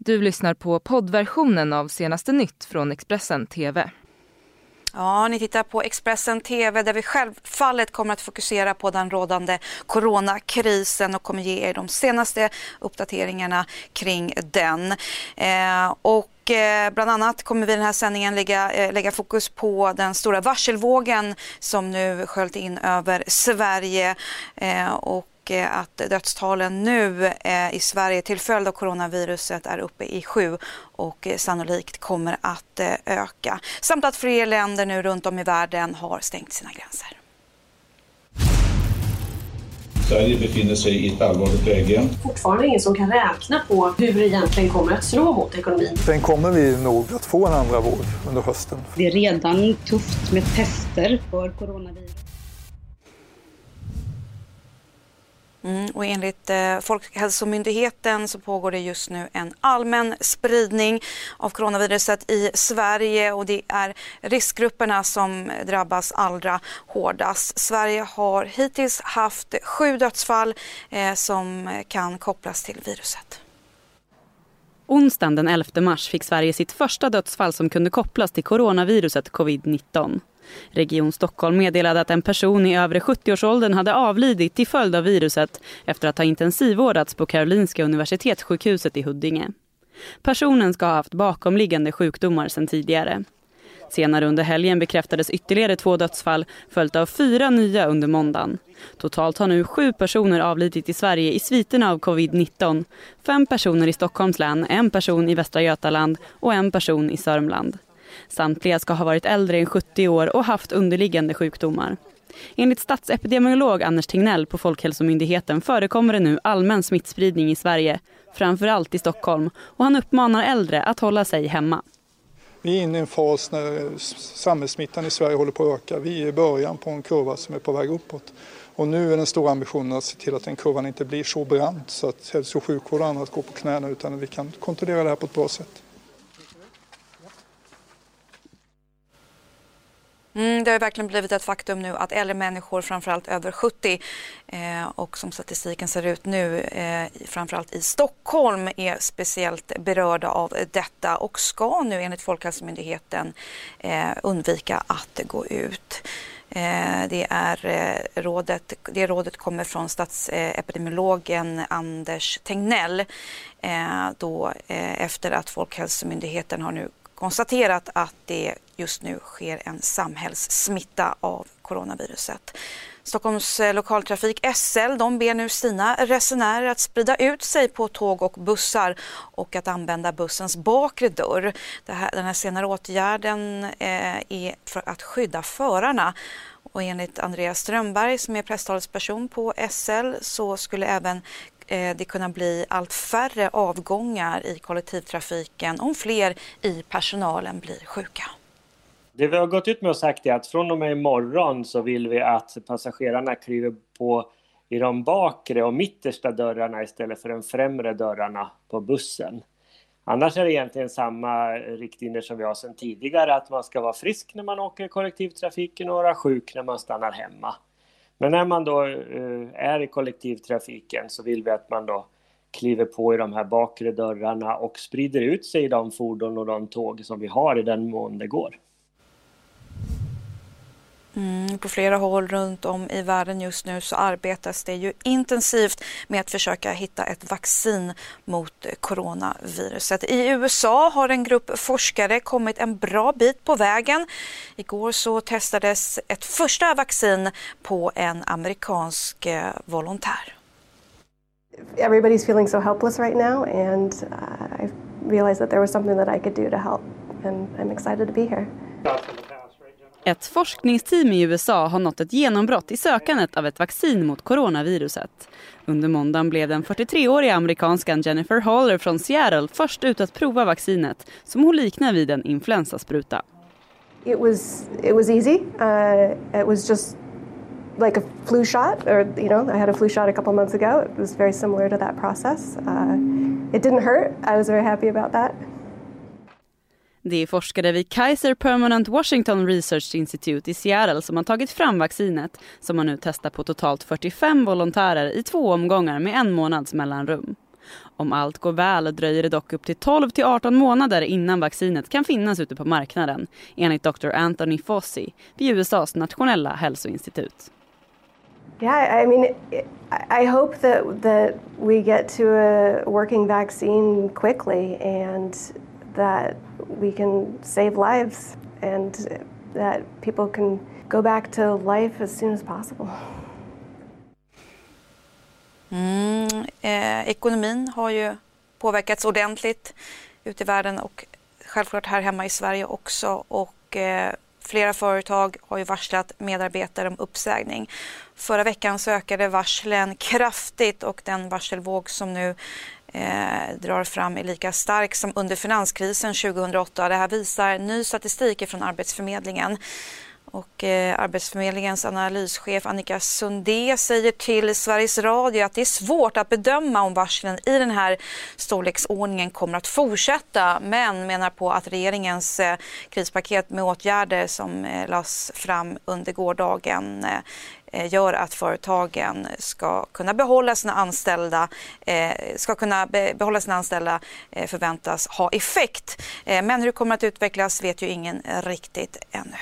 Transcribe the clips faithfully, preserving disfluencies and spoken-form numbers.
Du lyssnar på poddversionen av Senaste nytt från Expressen T V. Ja, ni tittar på Expressen T V där vi självfallet kommer att fokusera på den rådande coronakrisen och kommer ge er de senaste uppdateringarna kring den. Eh, och Bland annat kommer vi i den här sändningen lägga, lägga fokus på den stora varselvågen som nu sköljt in över Sverige eh, och att dödstalen nu eh, i Sverige till följd av coronaviruset är uppe i sju och eh, sannolikt kommer att eh, öka. Samt att fler länder nu runt om i världen har stängt sina gränser. Sverige befinner sig i ett allvarligt läge. Fortfarande ingen som kan räkna på hur det egentligen kommer att slå mot ekonomin. Sen kommer vi nog att få en andra våg under hösten. Det är redan tufft med tester för coronavirus. Mm, och enligt eh, Folkhälsomyndigheten så pågår det just nu en allmän spridning av coronaviruset i Sverige och det är riskgrupperna som drabbas allra hårdast. Sverige har hittills haft sju dödsfall eh, som kan kopplas till viruset. Onsdagen den elfte mars fick Sverige sitt första dödsfall som kunde kopplas till coronaviruset covid nitton. Region Stockholm meddelade att en person i övre sjuttio-årsåldern hade avlidit till följd av viruset efter att ha intensivvårdats på Karolinska universitetssjukhuset i Huddinge. Personen ska ha haft bakomliggande sjukdomar sedan tidigare. Senare under helgen bekräftades ytterligare två dödsfall följt av fyra nya under måndagen. Totalt har nu sju personer avlidit i Sverige i sviterna av covid nitton. Fem personer i Stockholms län, en person i Västra Götaland och en person i Sörmland. Samtliga ska ha varit äldre än sjuttio år och haft underliggande sjukdomar. Enligt statsepidemiolog Anders Tegnell på Folkhälsomyndigheten förekommer det nu allmän smittspridning i Sverige, framförallt i Stockholm, och han uppmanar äldre att hålla sig hemma. Vi är inne i en fas när samhällssmittan i Sverige håller på att öka. Vi är i början på en kurva som är på väg uppåt. Och nu är den stora ambitionen att se till att den kurvan inte blir så brant så att hälso- och sjukvård och annat går på knäna utan att vi kan kontrollera det här på ett bra sätt. Mm, det har verkligen blivit ett faktum nu att äldre människor, framförallt över sjuttio eh, och som statistiken ser ut nu, eh, framförallt i Stockholm är speciellt berörda av detta och ska nu enligt Folkhälsomyndigheten eh, undvika att gå ut. Eh, det, är, eh, rådet, det rådet kommer från statsepidemiologen Anders Tegnell eh, då, eh, efter att Folkhälsomyndigheten har nu konstaterat att det just nu sker en samhällssmitta av coronaviruset. Stockholms lokaltrafik S L de ber nu sina resenärer att sprida ut sig på tåg och bussar och att använda bussens bakre dörr. Det här, den här senare åtgärden eh, är för att skydda förarna. Och enligt Andreas Strömberg som är presstalesperson på S L så skulle även det kunna bli allt färre avgångar i kollektivtrafiken om fler i personalen blir sjuka. Det vi har gått ut med och sagt är att från och med imorgon så vill vi att passagerarna kliver på i de bakre och mittersta dörrarna istället för de främre dörrarna på bussen. Annars är det egentligen samma riktlinjer som vi har sedan tidigare, att man ska vara frisk när man åker i kollektivtrafiken och vara sjuk när man stannar hemma. Men när man då uh, är i kollektivtrafiken så vill vi att man då kliver på i de här bakre dörrarna och sprider ut sig i de fordon och de tåg som vi har i den mån det går. Mm, på flera håll runt om i världen just nu så arbetas det ju intensivt med att försöka hitta ett vaccin mot coronaviruset. I U S A har en grupp forskare kommit en bra bit på vägen. Igår så testades ett första vaccin på en amerikansk volontär. Everybody's feeling so helpless right now and uh, I realized that there was something that I could do to help and I'm excited to be here. Ett forskningsteam i U S A har nått ett genombrott i sökandet av ett vaccin mot coronaviruset. Under måndagen blev den fyrtiotreåriga amerikanskan Jennifer Haller från Seattle först ut att prova vaccinet som hon liknar vid en influensaspruta. It was it was easy. Uh, it was just like a flu shot, or you know, I had a flu shot a couple months ago. It was very similar to that process. Uh, it didn't hurt. I was very happy about that. Det är forskare vid Kaiser Permanente Washington Research Institute i Seattle som har tagit fram vaccinet som man nu testar på totalt fyrtiofem volontärer i två omgångar med en månads mellanrum. Om allt går väl dröjer det dock upp till tolv till arton månader innan vaccinet kan finnas ute på marknaden, enligt doktor Anthony Fauci vid U S A:s nationella hälsoinstitut. Yeah, I mean, I hope that that we get to a working vaccine quickly and that we can save lives and that people can go back to life as soon as possible. Mm, eh, ekonomin har ju påverkats ordentligt ute i världen och självklart här hemma i Sverige också, och eh, flera företag har ju varslat medarbetare om uppsägning. Förra veckan så ökade varslen kraftigt och den varselvåg som nu eh, drar fram är lika stark som under finanskrisen tjugohundraåtta. Det här visar ny statistik från Arbetsförmedlingen. Och eh, Arbetsförmedlingens analyschef Annika Sundé säger till Sveriges Radio att det är svårt att bedöma om varslen i den här storleksordningen kommer att fortsätta, men menar på att regeringens eh, krispaket med åtgärder som eh, lades fram under gårdagen eh, gör att företagen ska kunna behålla sina anställda, eh, ska kunna be- behålla sina anställda eh, förväntas ha effekt. Eh, men hur det kommer att utvecklas vet ju ingen riktigt ännu.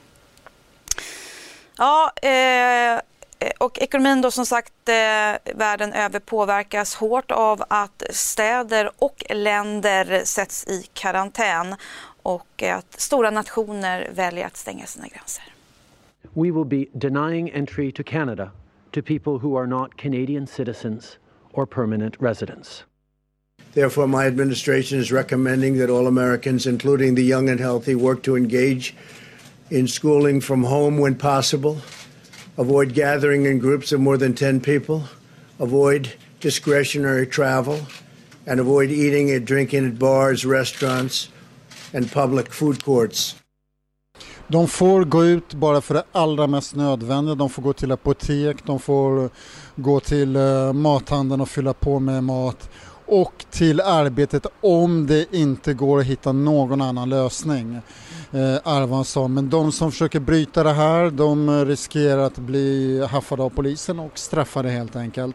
Ja, eh, och ekonomin då som sagt eh, världen över påverkas hårt av att städer och länder sätts i karantän och att stora nationer väljer att stänga sina gränser. We will be denying entry to Canada to people who are not Canadian citizens or permanent residents. Therefore, my administration is recommending that all Americans, including the young and healthy, work to engage in schooling from home when possible, avoid gathering in groups of more than ten people, avoid discretionary travel, and avoid eating and drinking at bars, restaurants, and public food courts. De får gå ut bara för det allra mest nödvändiga. De får gå till apotek, de får gå till mathandeln och fylla på med mat. Och till arbetet om det inte går att hitta någon annan lösning. Eh, Arvan sa, men de som försöker bryta det här, de riskerar att bli haffade av polisen och straffade helt enkelt.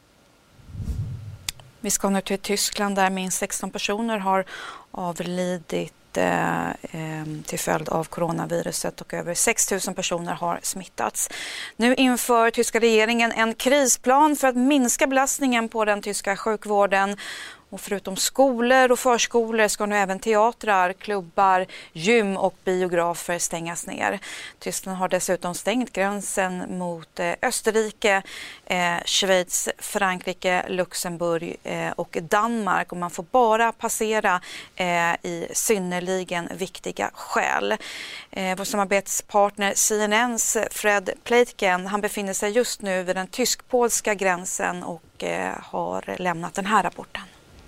Vi ska nu till Tyskland där minst sexton personer har avlidit eh, eh, till följd av coronaviruset och över sex tusen personer har smittats. Nu inför tyska regeringen en krisplan för att minska belastningen på den tyska sjukvården. Och förutom skolor och förskolor ska nu även teatrar, klubbar, gym och biografer stängas ner. Tyskland har dessutom stängt gränsen mot eh, Österrike, eh, Schweiz, Frankrike, Luxemburg eh, och Danmark. Och man får bara passera eh, i synnerligen viktiga skäl. Eh, vår samarbetspartner C N N:s Fred Pleitgen, han befinner sig just nu vid den tysk-polska gränsen och eh, har lämnat den här rapporten.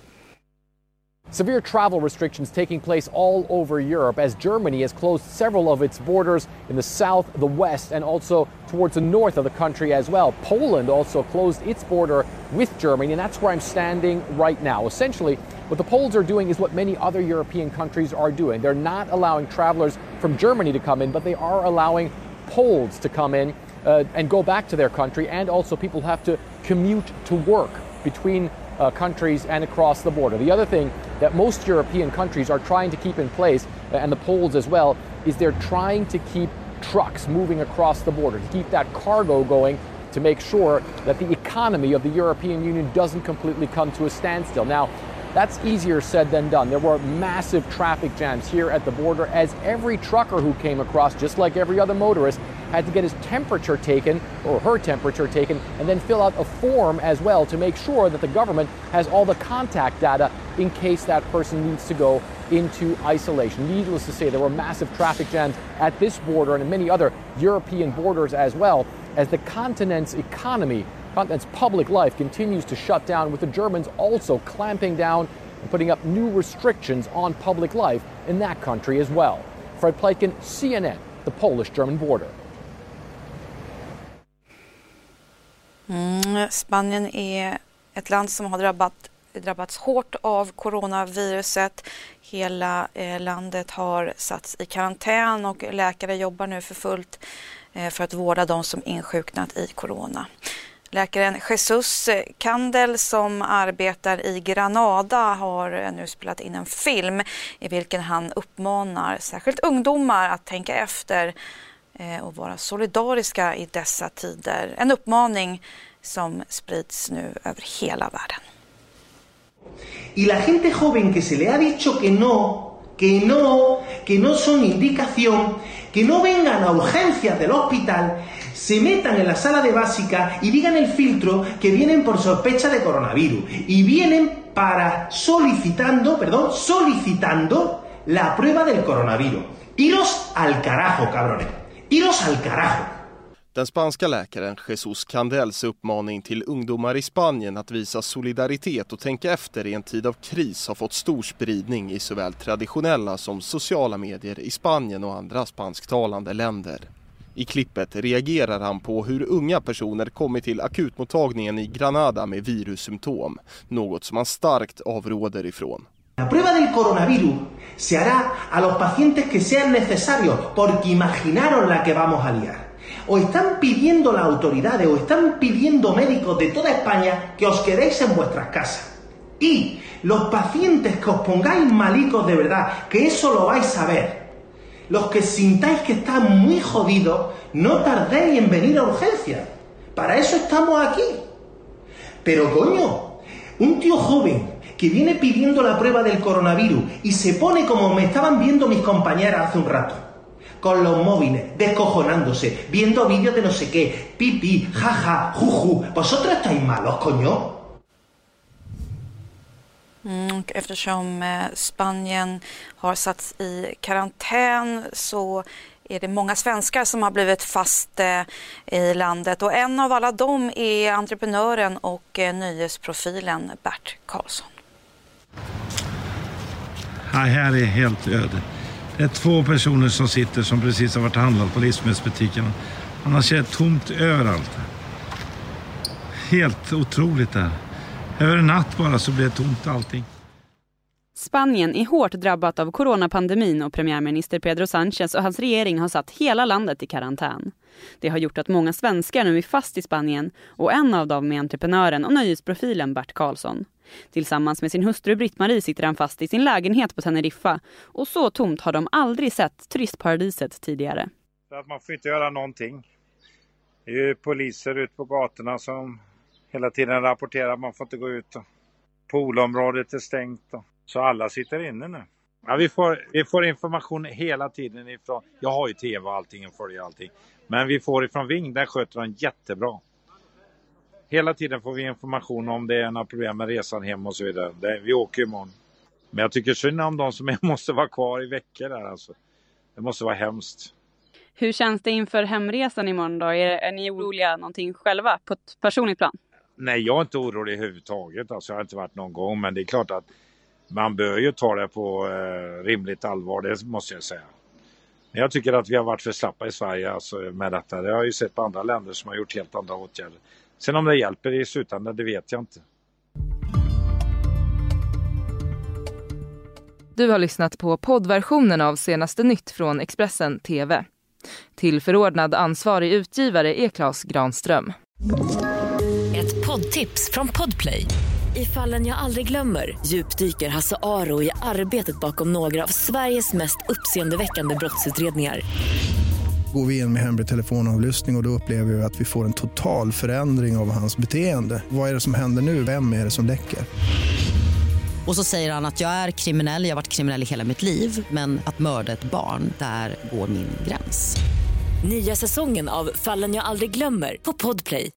Severe travel restrictions taking place all over Europe as Germany has closed several of its borders in the south, the west, and also towards the north of the country as well. Poland also closed its border with Germany, and that's where I'm standing right now. Essentially, what the Poles are doing is what many other European countries are doing. They're not allowing travelers from Germany to come in, but they are allowing Poles to come in uh, and go back to their country, and also people have to commute to work between Uh, countries and across the border. The other thing that most European countries are trying to keep in place, uh, and the Poles as well, is they're trying to keep trucks moving across the border, to keep that cargo going, to make sure that the economy of the European Union doesn't completely come to a standstill. Now, that's easier said than done. There were massive traffic jams here at the border as every trucker who came across, just like every other motorist, had to get his temperature taken, or her temperature taken, and then fill out a form as well to make sure that the government has all the contact data in case that person needs to go into isolation. Needless to say, there were massive traffic jams at this border and in many other European borders as well, as the continent's economy, continent's public life continues to shut down, with the Germans also clamping down and putting up new restrictions on public life in that country as well. Fred Pleitgen, C N N, the Polish-German border. Mm, Spanien är ett land som har drabbat, drabbats hårt av coronaviruset. Hela eh, landet har satts i karantän och läkare jobbar nu för fullt eh, för att vårda de som insjuknat i corona. Läkaren Jesus Kandel som arbetar i Granada har nu spelat in en film i vilken han uppmanar särskilt ungdomar att tänka efter och vara solidariska i dessa tider. En uppmaning som sprids nu över hela världen. Y la gente joven que se le ha dicho que no, que no, que no son indicación, que no vengan a urgencias del hospital, se metan en la sala de básica y digan el filtro que vienen por sospecha de coronavirus y vienen para solicitando, perdón, solicitando la prueba del coronavirus. Iros al carajo, cabrones. Iros al carajo. Den spanska läkaren Jesus Kandels uppmaning till ungdomar i Spanien att visa solidaritet och tänka efter i en tid av kris har fått stor spridning i såväl traditionella som sociala medier i Spanien och andra spansktalande länder. I klippet reagerar han på hur unga personer kommit till akutmottagningen i Granada med virussymptom, något som han starkt avråder ifrån. La prueba del coronavirus se hará a los pacientes que sean necesarios porque imaginaron la que vamos a liar. O están pidiendo las autoridades o están pidiendo médicos de toda España que os quedéis en vuestras casas. Y los pacientes que os pongáis malicos de verdad, que eso lo vais a ver. Los que sintáis que están muy jodidos, no tardéis en venir a urgencia. Para eso estamos aquí. Pero coño, un tío joven que viene pidiendo la prueba del coronavirus y se pone como me estaban viendo mis compañeras hace un rato. Con los móviles, descojonándose, viendo vídeos de no sé qué, pipí, jaja, juju. ¿Vosotros estáis malos, coño? Mm, och eftersom eh, Spanien har satts i karantän så är det många svenskar som har blivit fast eh, i landet. Och en av alla dem är entreprenören och eh, nöjesprofilen Bert Karlsson. Ja, här är helt öde. Det är två personer som sitter som precis har varit handlat på livsmedelsbutiken. Man har sett tomt överallt. Helt otroligt där. Över en natt bara så blir det tomt allting. Spanien är hårt drabbat av coronapandemin och premiärminister Pedro Sánchez och hans regering har satt hela landet i karantän. Det har gjort att många svenskar nu är fast i Spanien och en av dem är entreprenören och nöjesprofilen Bert Karlsson. Tillsammans med sin hustru Britt-Marie sitter han fast i sin lägenhet på Teneriffa och så tomt har de aldrig sett turistparadiset tidigare. För att man får inte göra någonting. Det är ju poliser ute på gatorna som hela tiden rapporterar att man får inte gå ut. Poolområdet är stängt. Så alla sitter inne nu. Ja, vi, får, vi får information hela tiden ifrån. Jag har ju tv och allting och följer allting. Men vi får ifrån Ving, där sköter de jättebra. Hela tiden får vi information om det är några problem med resan hem och så vidare. Det, vi åker imorgon. Men jag tycker synd om de som måste vara kvar i veckor där alltså. Det måste vara hemskt. Hur känns det inför hemresan imorgon då? Är, är ni oroliga någonting själva på ett personligt plan? Nej, jag är inte orolig överhuvudtaget. Alltså, jag har inte varit någon gång. Men det är klart att man bör ju ta det på eh, rimligt allvar, det måste jag säga. Men jag tycker att vi har varit för slappa i Sverige alltså, med detta. Det har jag ju sett på andra länder som har gjort helt andra åtgärder. Sen om det hjälper i slutändan, det vet jag inte. Du har lyssnat på poddversionen av Senaste nytt från Expressen T V. Till förordnad ansvarig utgivare är Claes Granström. Ett poddtips från Podplay. I Fallen jag aldrig glömmer djupdyker Hasse Aro i arbetet bakom några av Sveriges mest uppseendeväckande brottsutredningar. Går vi in med hemlig telefonavlyssning och, och då upplever vi att vi får en total förändring av hans beteende. Vad är det som händer nu? Vem är det som läcker? Och så säger han att jag är kriminell, jag har varit kriminell i hela mitt liv. Men att mörda ett barn, där går min gräns. Nya säsongen av Fallen jag aldrig glömmer på Podplay.